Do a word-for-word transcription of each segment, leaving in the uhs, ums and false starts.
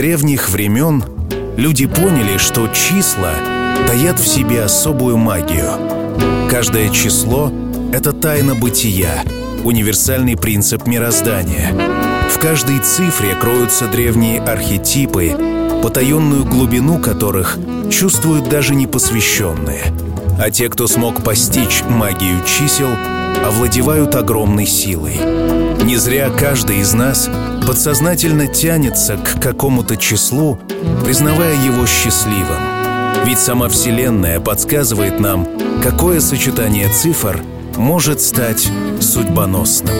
древних времен люди поняли, что числа таят в себе особую магию. Каждое число — это тайна бытия, универсальный принцип мироздания. В каждой цифре кроются древние архетипы, потаенную глубину которых чувствуют даже непосвященные. А те, кто смог постичь магию чисел, овладевают огромной силой. Не зря каждый из нас подсознательно тянется к какому-то числу, признавая его счастливым. Ведь сама Вселенная подсказывает нам, какое сочетание цифр может стать судьбоносным.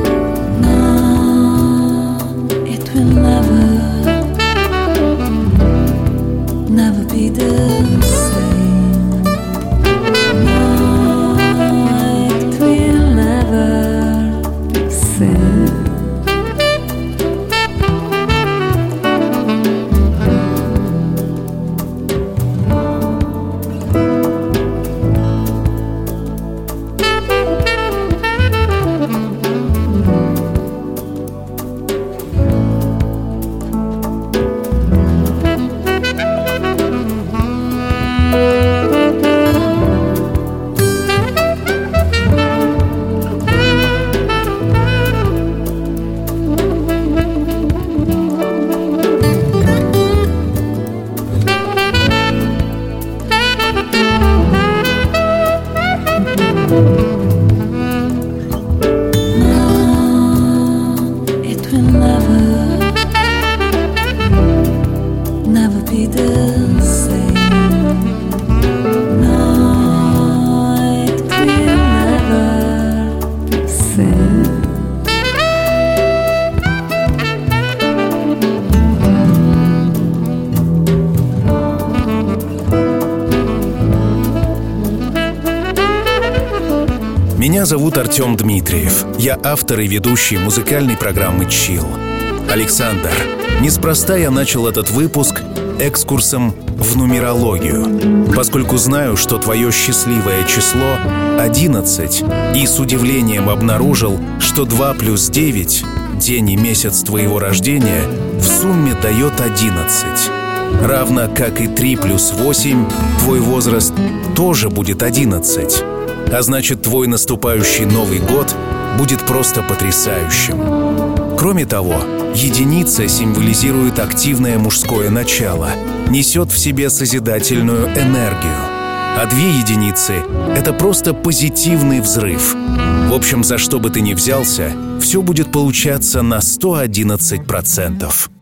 Меня зовут Артем Дмитриев. Я автор и ведущий музыкальной программы «Чилл». Александр, неспроста я начал этот выпуск экскурсом в нумерологию, поскольку знаю, что твое счастливое число — одиннадцать, и с удивлением обнаружил, что два плюс девять, день и месяц твоего рождения, в сумме дает одиннадцать. Равно как и три плюс восемь, твой возраст тоже будет одиннадцать. А значит, твой наступающий Новый год будет просто потрясающим. Кроме того, единица символизирует активное мужское начало, несет в себе созидательную энергию. А две единицы — это просто позитивный взрыв. В общем, за что бы ты ни взялся, все будет получаться на сто одиннадцать процентов.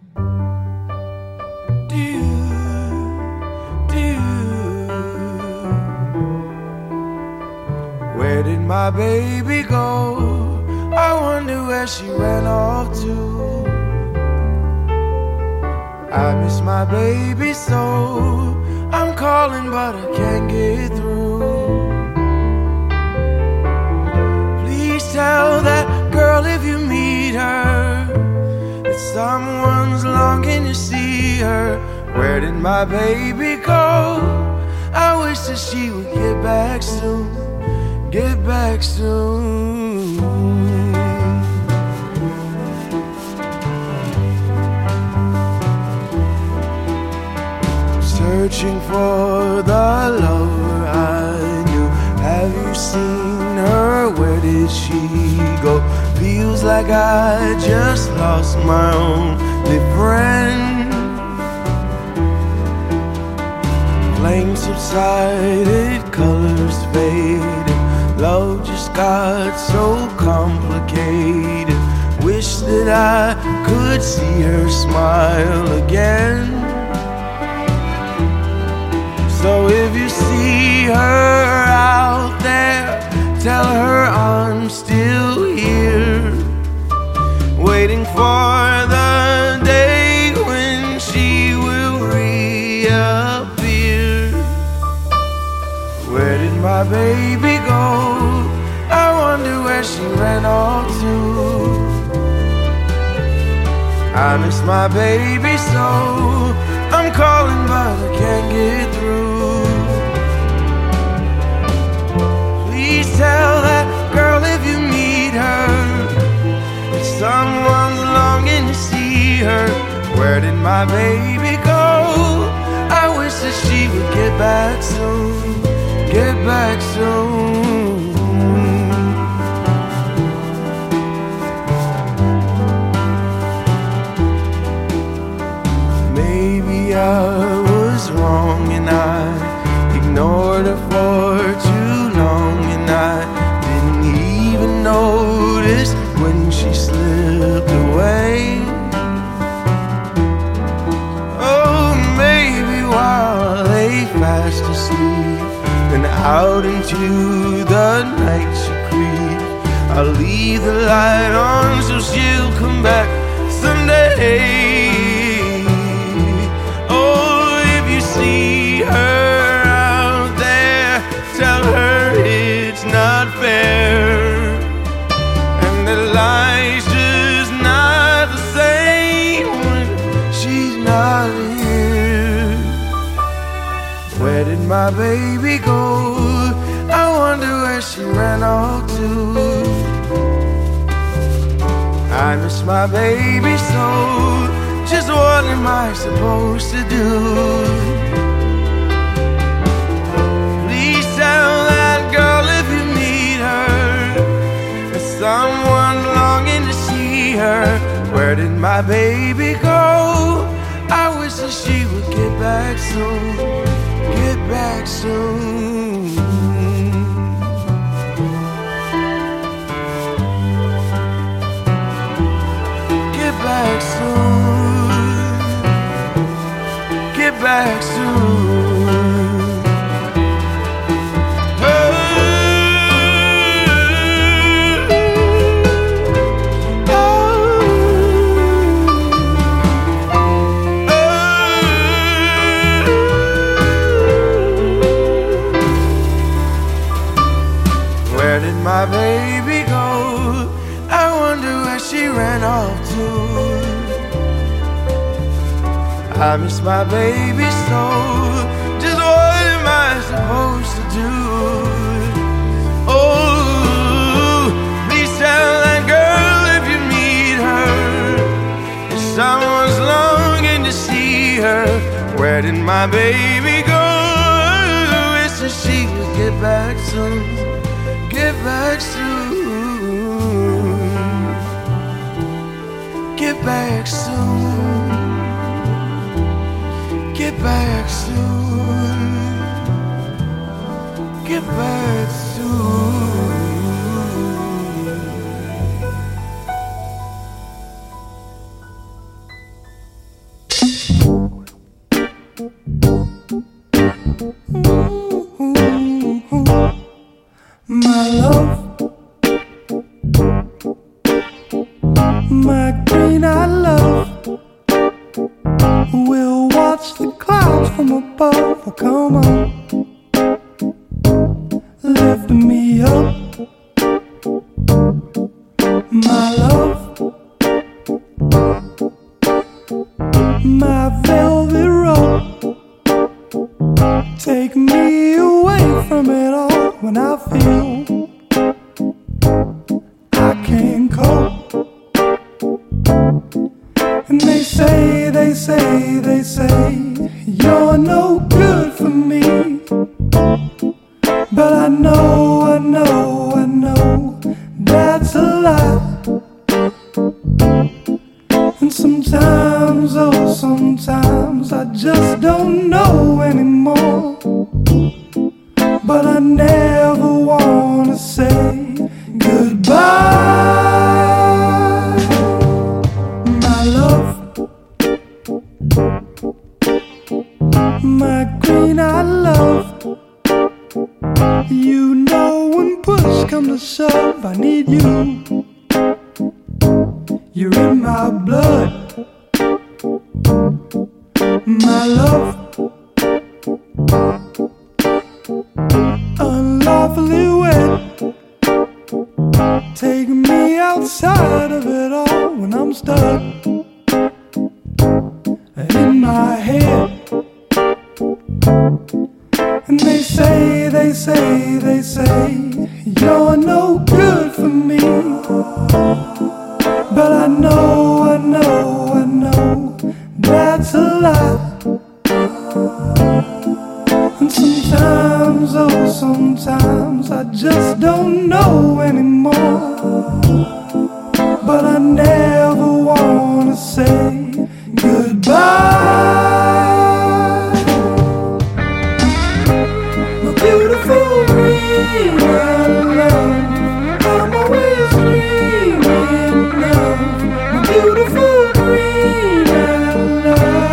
Where did my baby go? I wonder where she ran off to. I miss my baby so. I'm calling but I can't get through. Please tell that girl if you meet her that someone's longing to see her. Where did my baby go? I wish that she would get back soon. Get back soon. Searching for the lover I knew. Have you seen her? Where did she go? Feels like I just lost my only friend. Flames subsided, colors faded. Love just got so complicated. Wish that I could see her smile again. So if you see her out there, tell her I'm still here, waiting for the day when she will reappear. Where did my baby go? I wonder where she ran off to. I miss my baby so. I'm calling but I can't get through. Please tell that girl if you meet her that someone's longing to see her. Where did my baby go. I wish that she would get back soon, get back soon. Maybe I was wrong and I ignored her for too long, and I didn't even notice when she slipped away. Oh, maybe while I lay fast asleep and out into the night she creeps, I'll leave the light on so she'll come back someday. See her out there, tell her it's not fair, and that life's just not the same when she's not here. Where did my baby go? I wonder where she ran off to. I miss my baby so. Just what am I supposed to do? Please tell that girl if you meet her, there's someone longing to see her. Where did my baby go? I wish that she would get back soon, get back soon. Get back soon. Get back soon. Oh, oh, oh. Where did my baby go? I wonder where she ran off to. I miss my baby so. Just what am I supposed to do? Oh, please tell that girl if you meet her, if someone's longing to see her. Where did my baby go? I wish that she would get back soon, get back soon, get back soon. Get back soon, get back soon. My love, my green-eyed love, we'll watch the clouds from above. Oh, come on, lift me up. My love, my velvet rope, take me away from it all when I feel I can't cope. And they say, they say, they say, you're no good for me. But I know, I know, I know, that's a lie. And sometimes, oh, sometimes I just don't know anymore. But I never wanna say goodbye. My love, my green-eyed love, you know when push comes to shove, I need you. You're in my blood. My love, unlawfully wed, take me outside of it all when I'm stuck in my head. And they say, they say, they say, you're no good for me. But I know, I know, I know, that's And sometimes, oh sometimes I just don't know anymore. But I never wanna say goodbye. My beautiful dream of love, I'm always dreaming of my beautiful dream of love.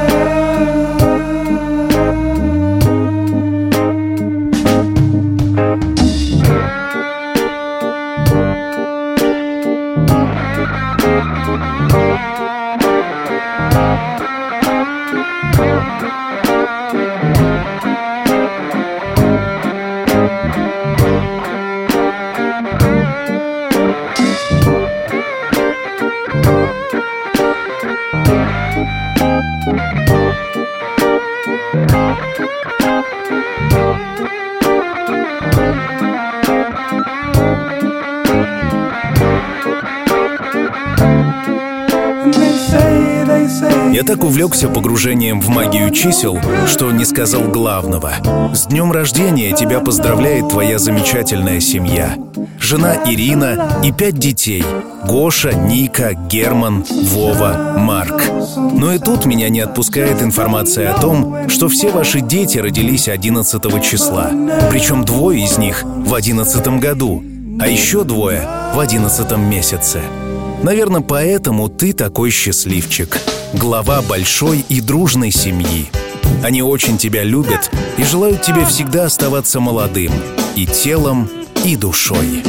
Я так увлекся погружением в магию чисел, что не сказал главного. С днем рождения тебя поздравляет твоя замечательная семья. Жена Ирина и пять детей. Гоша, Ника, Герман, Вова, Марк. Но и тут меня не отпускает информация о том, что все ваши дети родились одиннадцатого числа. Причем двое из них в одиннадцатом году, а еще двое в одиннадцатом месяце. Наверное, поэтому ты такой счастливчик. Глава большой и дружной семьи. Они очень тебя любят и желают тебе всегда оставаться молодым. И телом, и душой.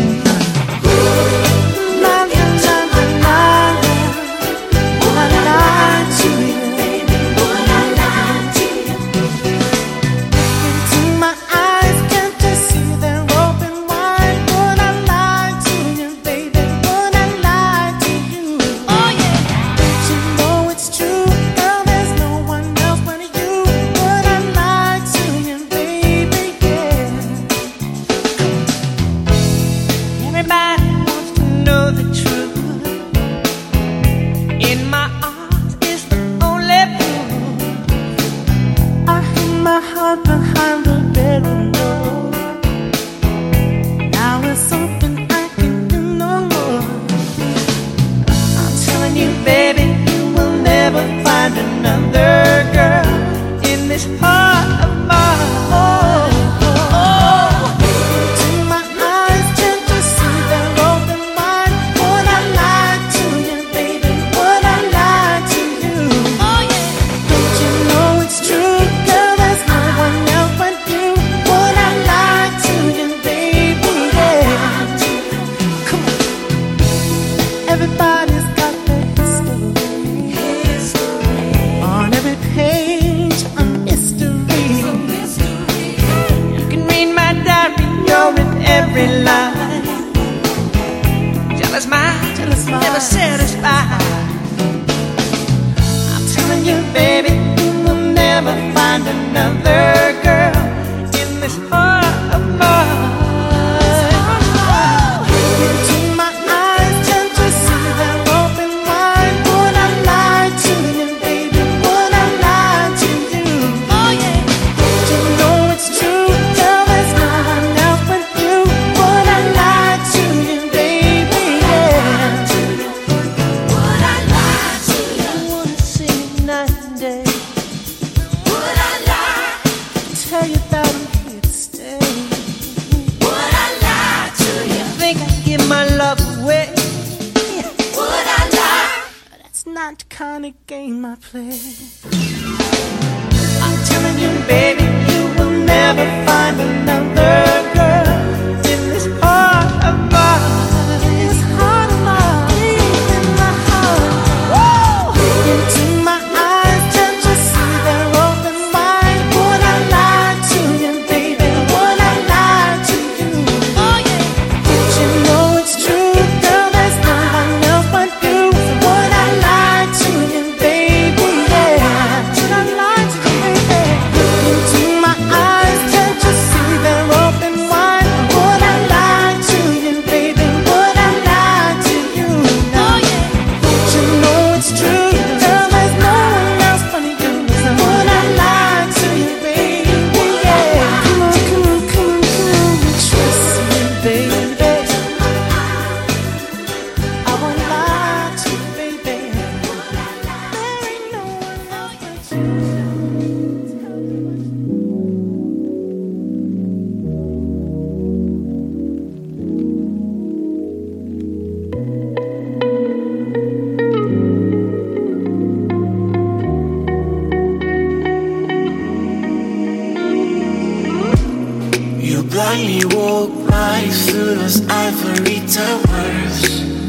blindly walk right through those ivory towers.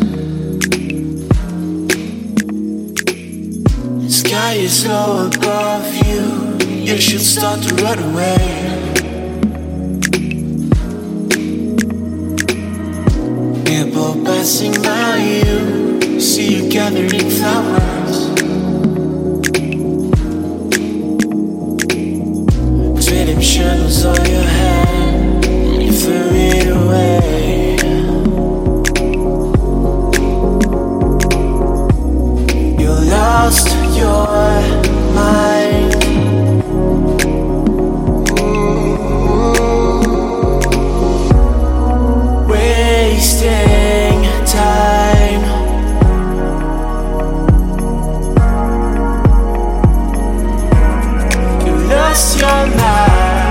The sky is low above you. You should start to run away. People passing by you, see you gathering flowers. Redemption was all you had, and you threw it away. You lost your mind. Wasting time. You lost your mind.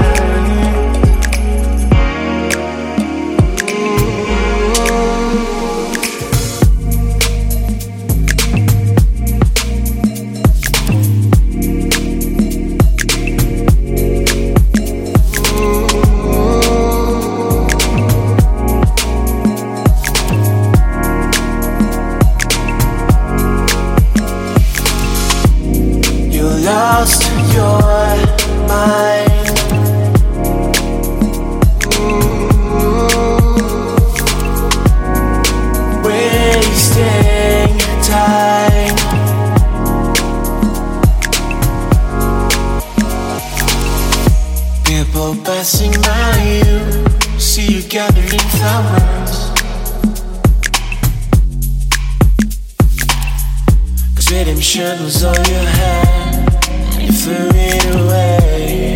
Lost your mind. Wasting time. People passing by you, see you gathering flowers. Cause redemption was all you had. You threw it away.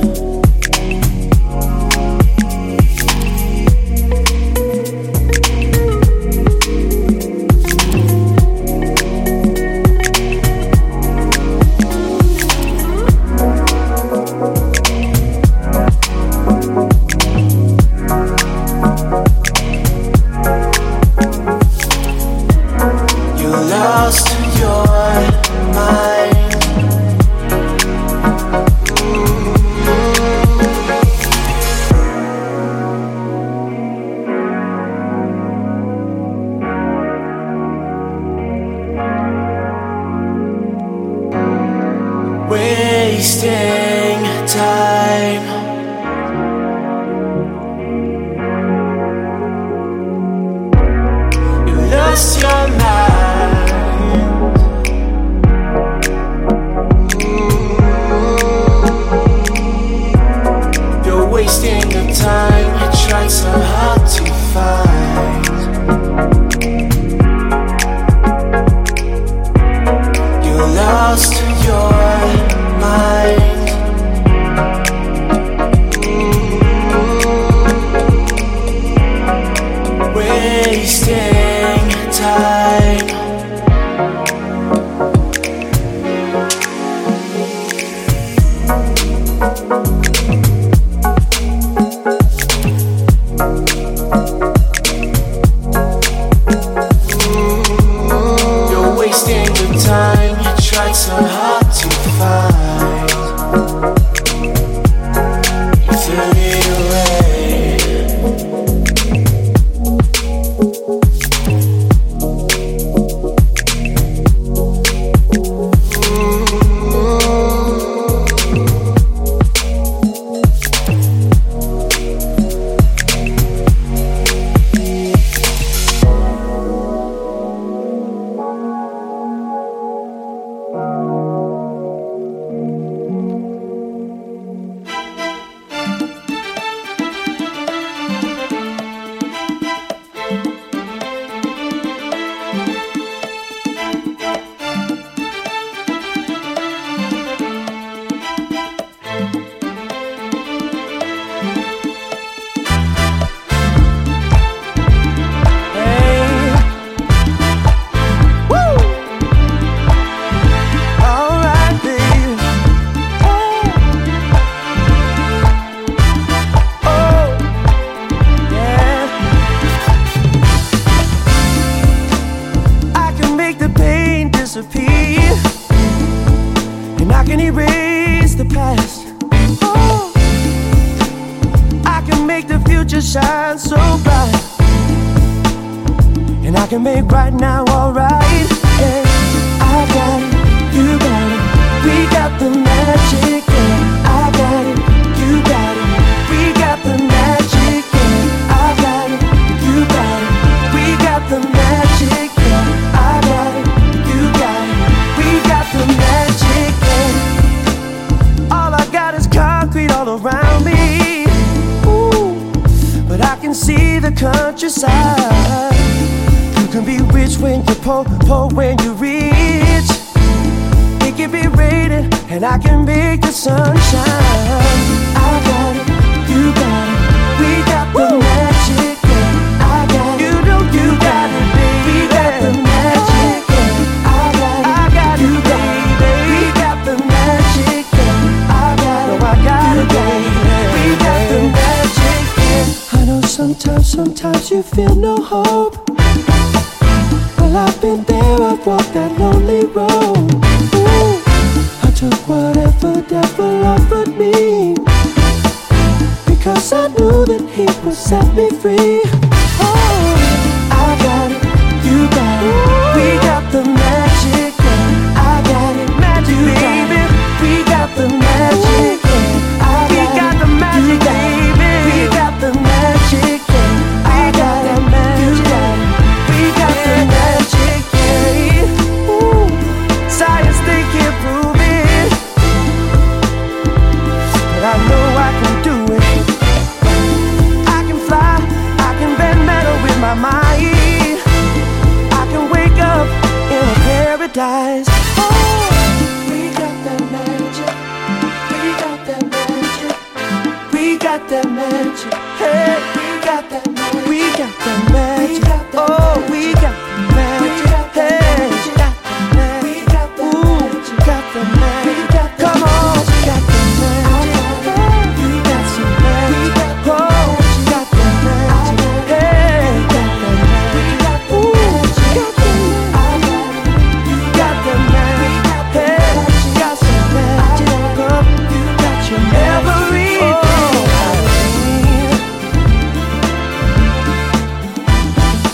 You lost your mind. Wasting time. You lost your mind. You're wasting the time you tried so hard to find. You lost your mind. Wasting time. You're wasting the time you tried so hard to find. You threw it away. shine so bright, and I can make right now alright. Yeah, I got it, you got it, we got the magic. Yeah, I got it, you got it, we got the magic. Yeah, I got it, you got it, we got the magic. Yeah, I got it, you got it, we got the magic. Yeah, all I got is concrete all around me. Ooh, but I can see the countryside. You can be rich when you're poor, poor when you're rich. It can be raining and I can make the sunshine. I got it, you got it, we got the magic. Yeah, I got it, you know you got it, baby. We got the magic. Yeah, I got it, I got you, baby. We got the magic. Yeah, I got it, no, I got it, baby. We got the magic. Yeah. I know sometimes, sometimes you feel no hope. Well, I've been there, I've walked that lonely road. Ooh, I took whatever devil offered me, because I knew that he would set me free. Oh, I got it, you got it, we got the magic. Yeah, I got it, magic, you baby. We got the magic. Yeah, I got we got it, the magic, baby. We got the magic. Yeah, I got the magic. You got it, we got the magic. Yeah, ooh, science they can't prove it, but I know I can do it. I can fly, I can bend metal with my mind. I can wake up in a paradise. Oh, we got that magic, we got that magic, we got that magic. Hey, we got that magic, we got that magic. Oh, we got the magic. Hey, we got the magic. Ooh, got the magic. Come on, got the magic. We got some magic. Oh, got the magic. Hey, got the magic. Ooh, got the magic. Got the magic. Hey, got some magic. Come, you got your everything.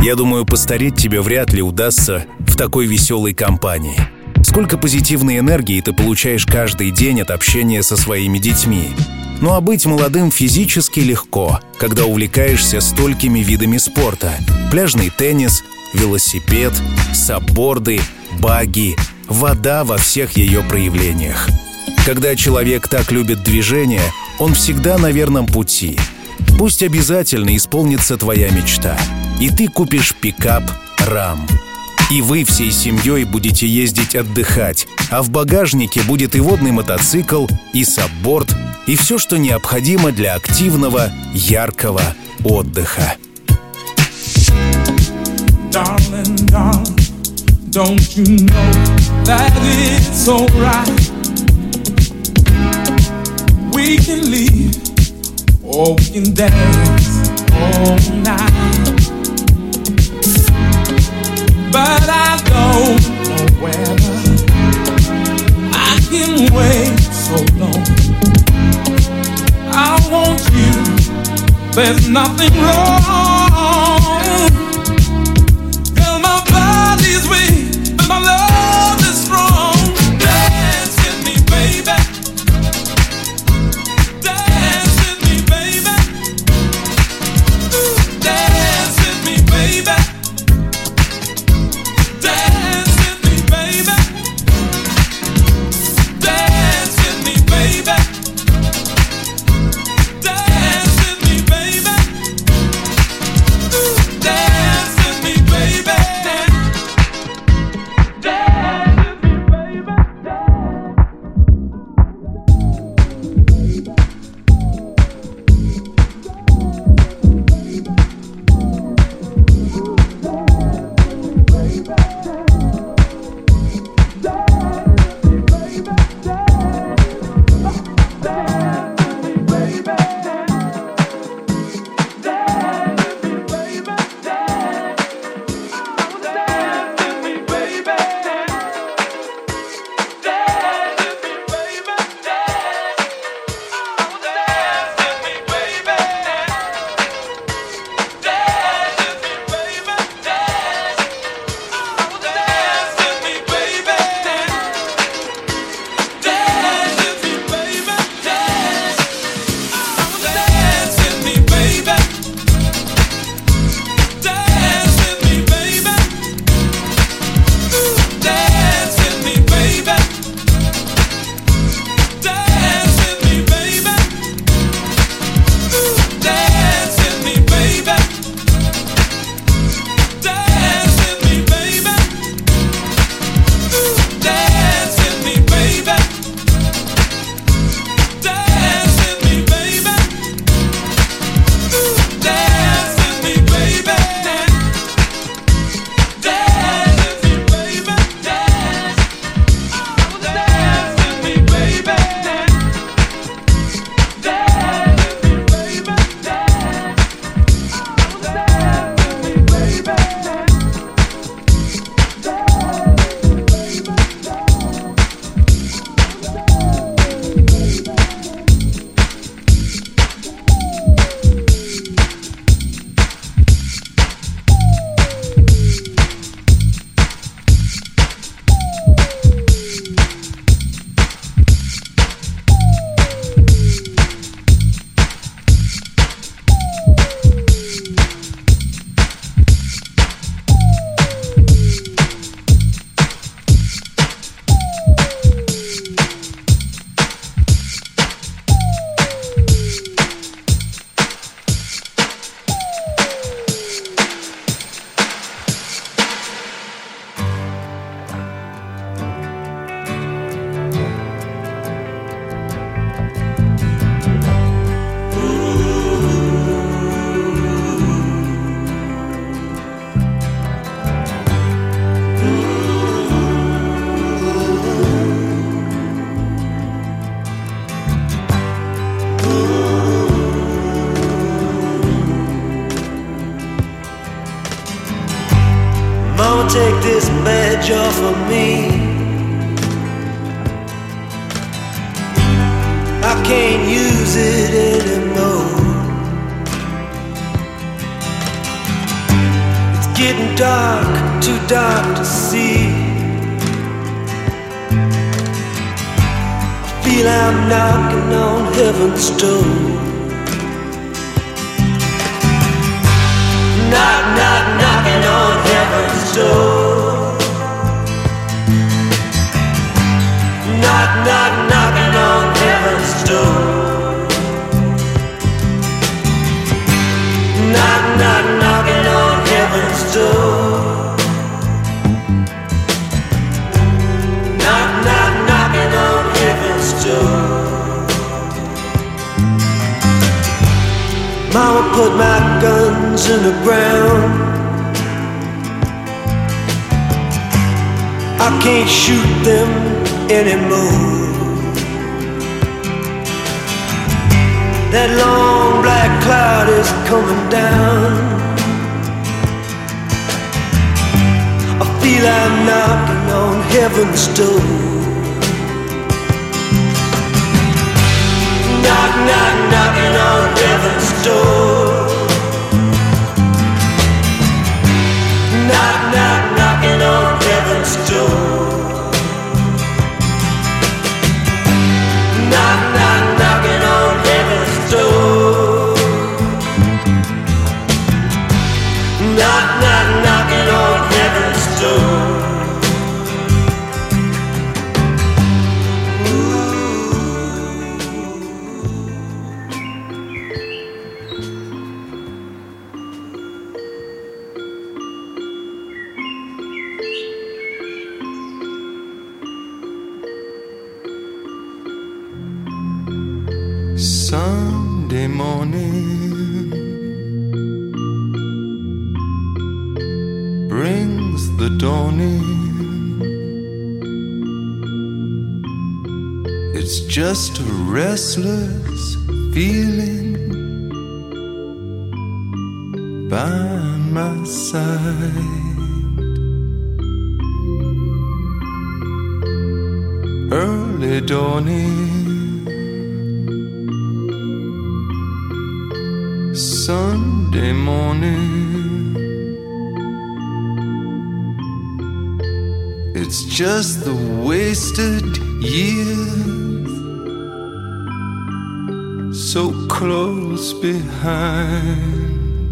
Я думаю, постареть тебе вряд ли удастся в такой веселой компании. Сколько позитивной энергии ты получаешь каждый день от общения со своими детьми. Ну а быть молодым физически легко, когда увлекаешься столькими видами спорта. Пляжный теннис, велосипед, сапборды, багги, вода во всех ее проявлениях. Когда человек так любит движение, он всегда на верном пути. Пусть обязательно исполнится твоя мечта, и ты купишь пикап «Рам». И вы всей семьей будете ездить отдыхать, а в багажнике будет и водный мотоцикл, и сапборд, и все, что необходимо для активного, яркого отдыха. Darling, darling, don't you know that it's alright? We can leave or we can dance all night. But I don't know whether I can wait so long. I want you, there's nothing wrong. Girl, my body's weak, but my love is strong. Dance with me, baby. Dance with me, baby. Dance with me, baby. Take this badge off of me. I can't use it anymore. It's getting dark, too dark to see. I feel I'm knocking on heaven's door. Knock, knock, knocking on heaven's door. Knock, knock, knocking on heaven's door. Knock, knock, knocking on heaven's door. Knock, knock, knocking on heaven's door. Mama put my guns in the ground. I can't shoot them anymore. That long black cloud is coming down. I feel I'm knocking on heaven's door. Knock, knock, knocking on heaven's door. Knock, knock, knocking on heaven's door. Knock, knock, knocking on heaven's door. Knock, knock, knocking on heaven's door. Sunday morning brings the dawning. It's just a restless feeling by my side. Early dawning, Sunday morning. It's just the wasted years so close behind.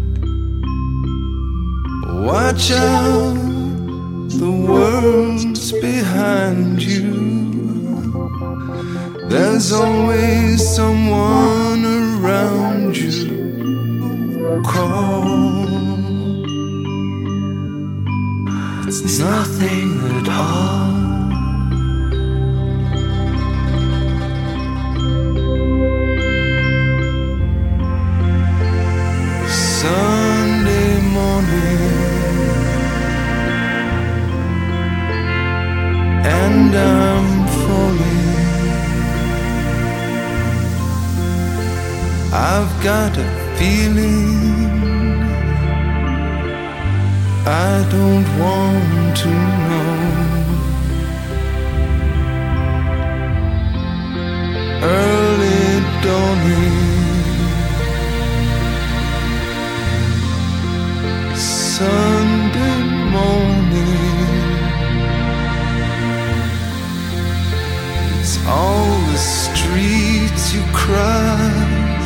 Watch out, the world's behind you. There's always someone around you. Call. It's nothing at all. Sunday morning, and I'm falling. I've got a feeling I don't want to know. Early dawning, Sunday morning. It's all the streets you crossed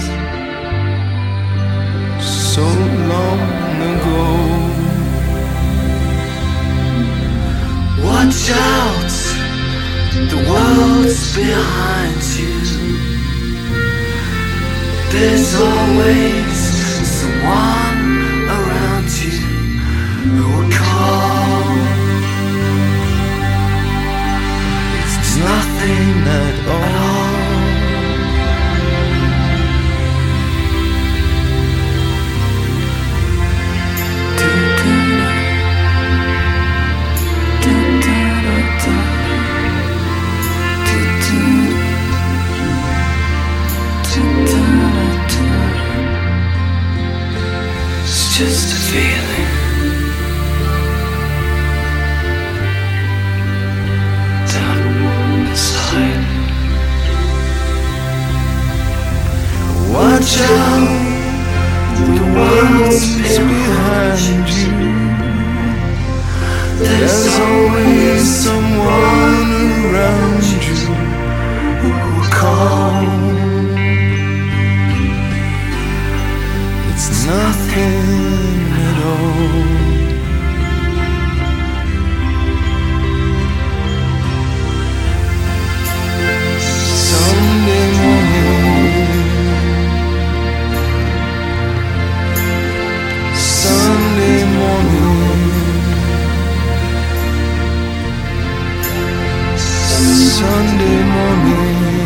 so long ago. Watch out, the world's behind you. There's always someone around you who will call. It's nothing at all. always someone around you who will call. It's nothing at all. Sunday morning, Sunday morning, Sunday morning,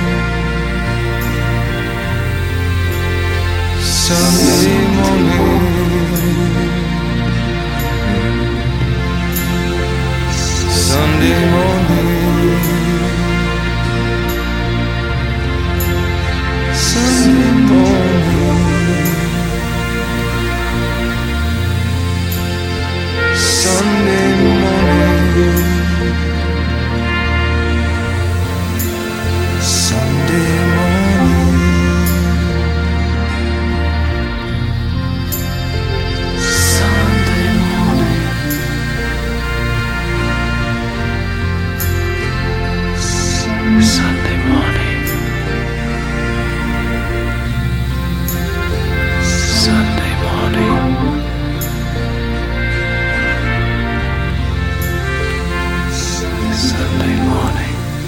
Sunday morning, Sunday morning, Sunday morning, Sunday morning, Sunday morning, Sunday morning, Sunday morning, Sunday morning, Sunday morning.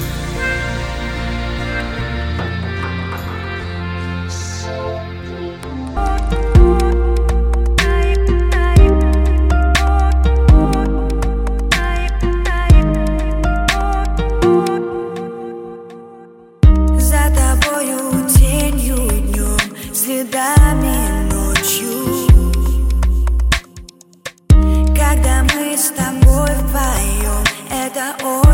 За тобою тенью днем, следами ночью. Когда мы с тобой вдвоем, это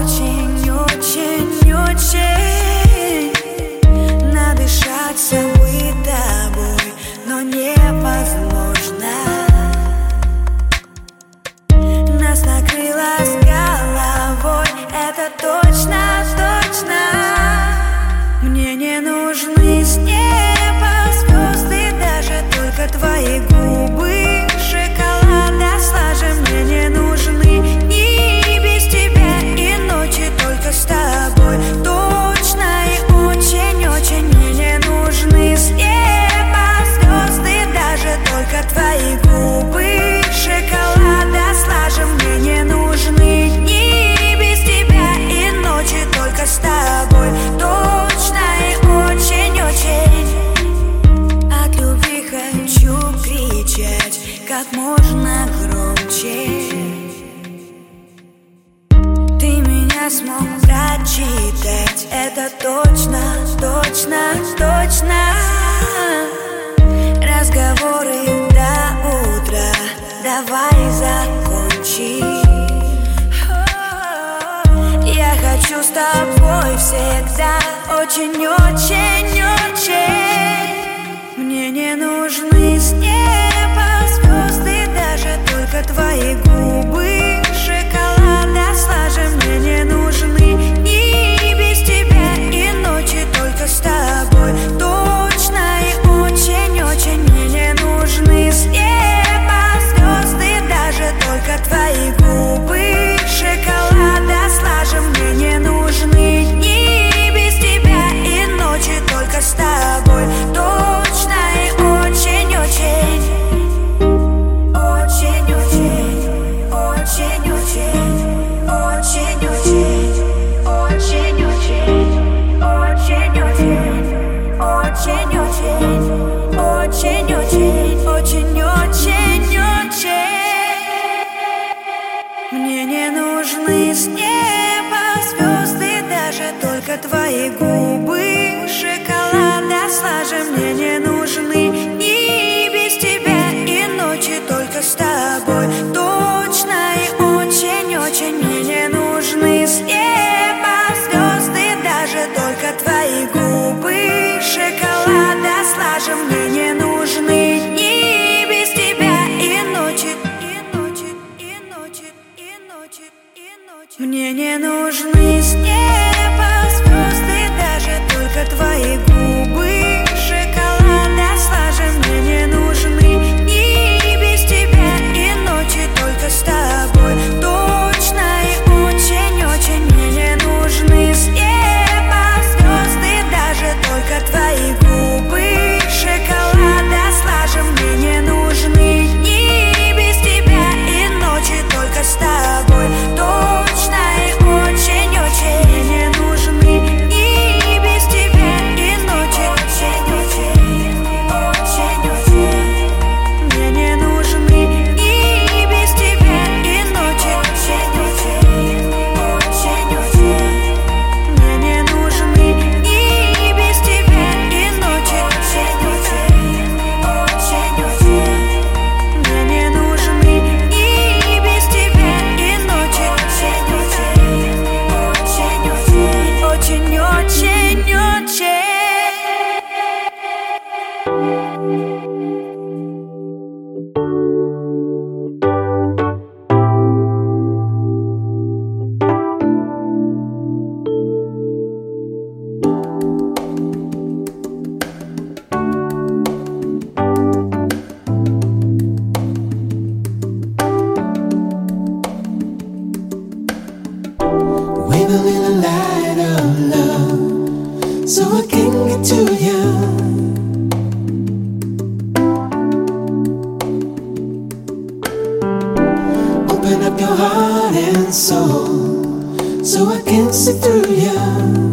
очень-очень-очень. Надышаться быть тобой, но невозможно. Нас накрыло с головой, это точно-точно. Мне не нужны с неба звезды, даже только твои губы шоколада слажем. Мне не нужны ни без тебя и ночи только с тобой. Точно и очень-очень. Мне не нужны с неба звезды, даже только твои губы шоколада слажем. Мне не нужны ни без тебя и ночи только с тобой. Точно и очень-очень. От любви хочу кричать как можно громче. Ты меня смог прочитать, это точно, точно, точно. Разговоры до утра, давай закончим. Я хочу с тобой всегда, очень-очень-очень. Мне не нужны с неба звезды, даже только твои губы шоколада слажем. Мне не нужны ни без тебя и ночи только с тобой. Точно и очень-очень. Мне не нужны с неба звезды, даже только твои губы шоколада слажем. Мне не нужны ни без тебя и ночи только с тобой. Точно и очень-очень. Очень-очень. Очень-очень. Очень-очень. Очень-очень. Очень-очень. Очень-очень. Очень-очень. Очень-очень-очень. Мне не нужны с неба звезды, даже только твои губы шоколада слажем. Мне не нужны ни без тебя и ночи только с тобой. Точно и очень-очень. Мне не нужны с неба звезды, даже только твои губы шоколада слажем. Мне не нужны ни без тебя и ночи, и ночи, и ночи, и ночи, и ночи. Мне не нужны с неба звезды, даже только твои губы шоколада слажем. Мне не нужны ни без тебя и ночи только с тобой. Точно и Open up your heart and soul so I can see through you.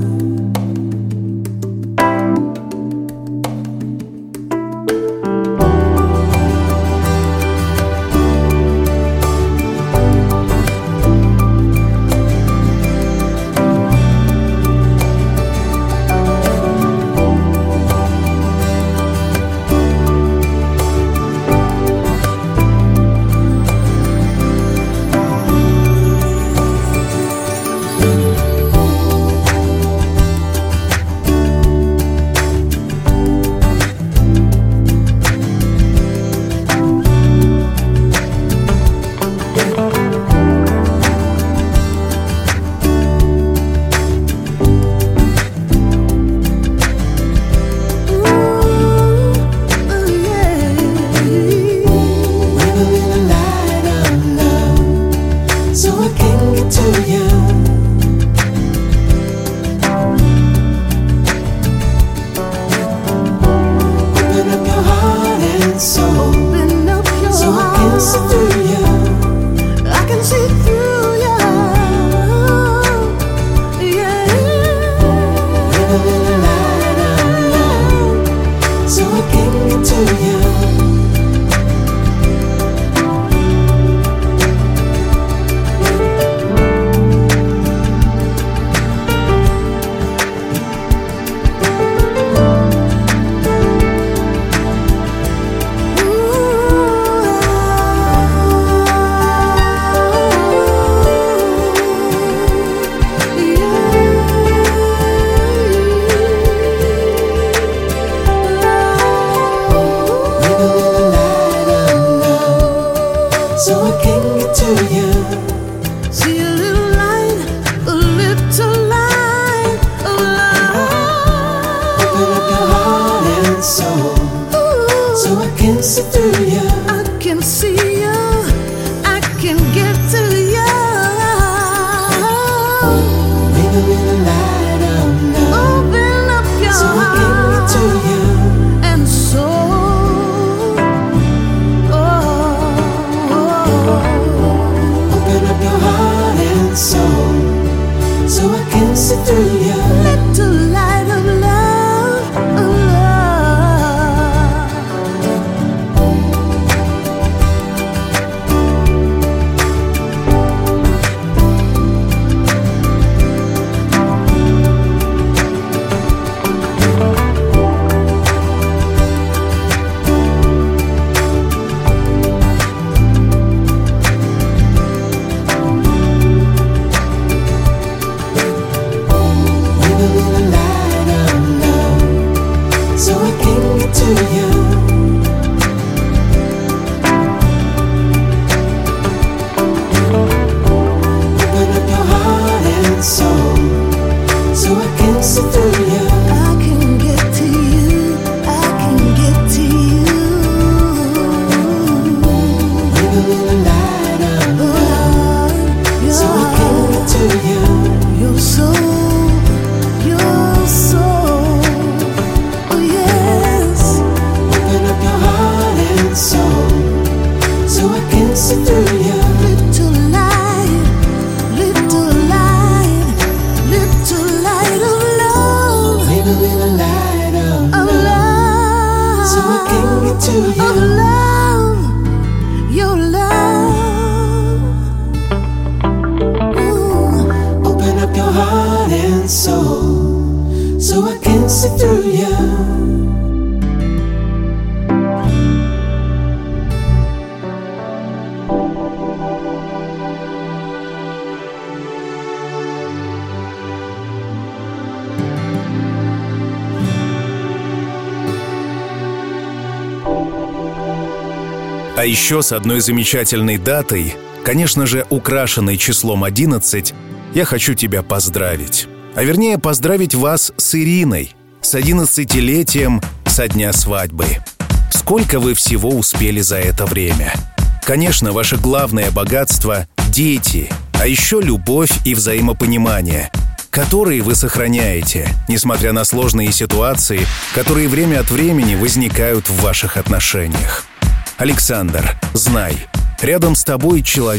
А еще с одной замечательной датой, конечно же, украшенной числом одиннадцать, я хочу тебя поздравить. А вернее, поздравить вас с Ириной, с одиннадцатилетием со дня свадьбы. Сколько вы всего успели за это время? Конечно, ваше главное богатство – дети, а еще любовь и взаимопонимание, которые вы сохраняете, несмотря на сложные ситуации, которые время от времени возникают в ваших отношениях. Александр, знай, рядом с тобой человек,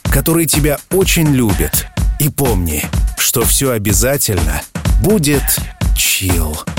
который тебя очень любит. И помни, что все обязательно будет чил.